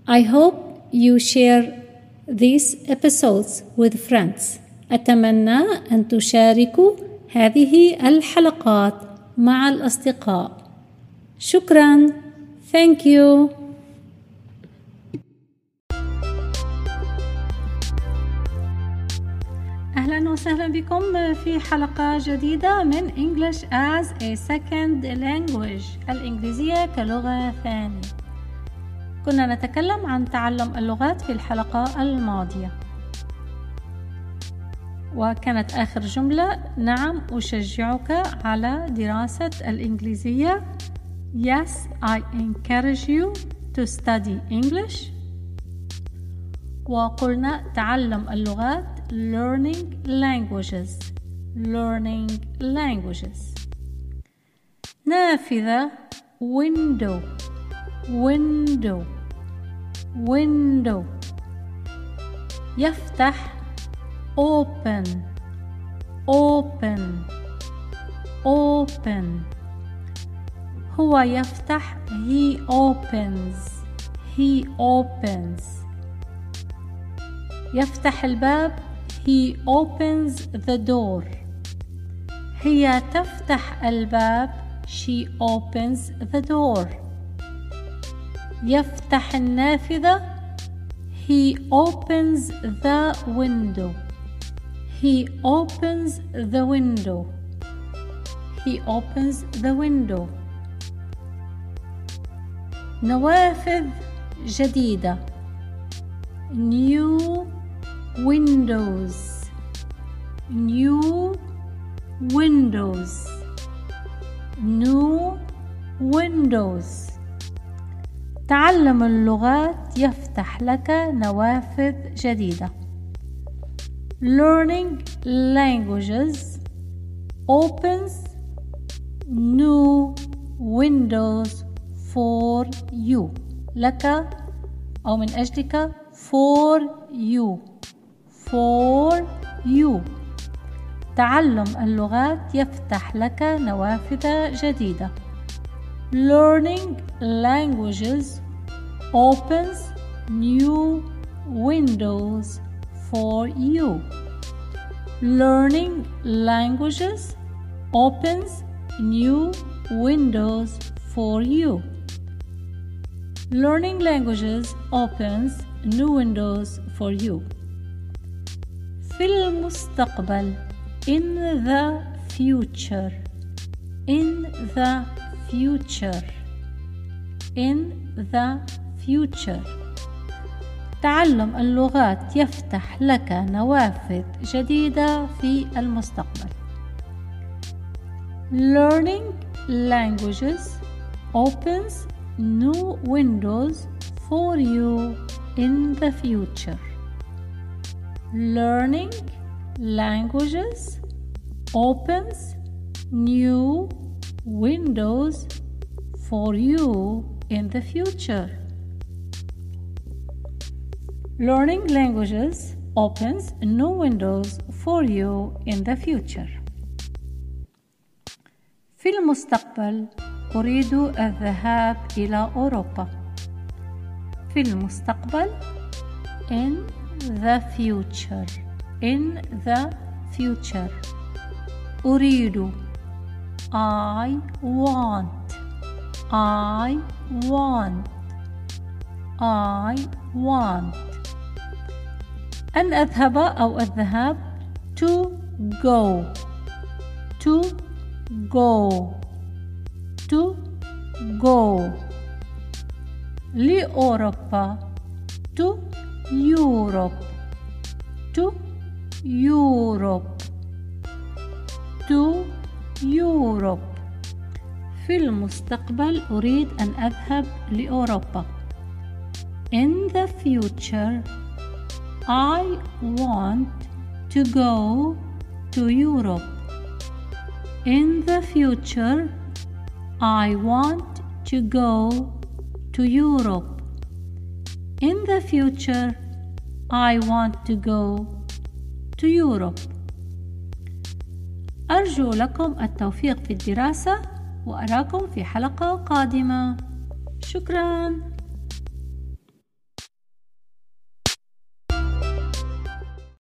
I hope you share these episodes with friends. أتمنى أن تشاركوا هذه الحلقات مع الأصدقاء. شكراً. Thank you. أهلاً وسهلاً بكم في حلقة جديدة من English as a Second Language، الإنجليزية كلغة ثانية. كنا نتكلم عن تعلم اللغات في الحلقة الماضية، وكانت آخر جملة: نعم أشجعك على دراسة الإنجليزية. Yes, I encourage you to study English. وقلنا تعلم اللغات learning languages. نافذة window. يفتح open. هو يفتح he opens. يفتح الباب he opens the door. هي تفتح الباب she opens the door. يفتح النافذة he opens the window. نوافذ جديدة new windows. تعلم اللغات يفتح لك نوافذ جديدة. Learning languages opens new windows for you. لك أو من أجلك. for you. تعلم اللغات يفتح لك نوافذ جديدة. Learning languages opens new windows for you. Learning languages opens new windows for you. Learning languages opens new windows for you. في المستقبل in the future. تعلم اللغات يفتح لك نوافذ جديدة في المستقبل. Learning languages opens new windows for you in the future. Learning languages opens new windows for you in the future. Learning languages opens new windows for you in the future. في المستقبل أريد الذهاب إلى أوروبا. في المستقبل in the future. أريد I want. أن أذهب أو الذهاب to go. لأوروبا to Europe. في المستقبل أريد أن أذهب لأوروبا. In the future I want to go to Europe. In the future I want to go to Europe. In the future I want to go to Europe. أرجو لكم التوفيق في الدراسة، وأراكم في حلقة قادمة. شكراً.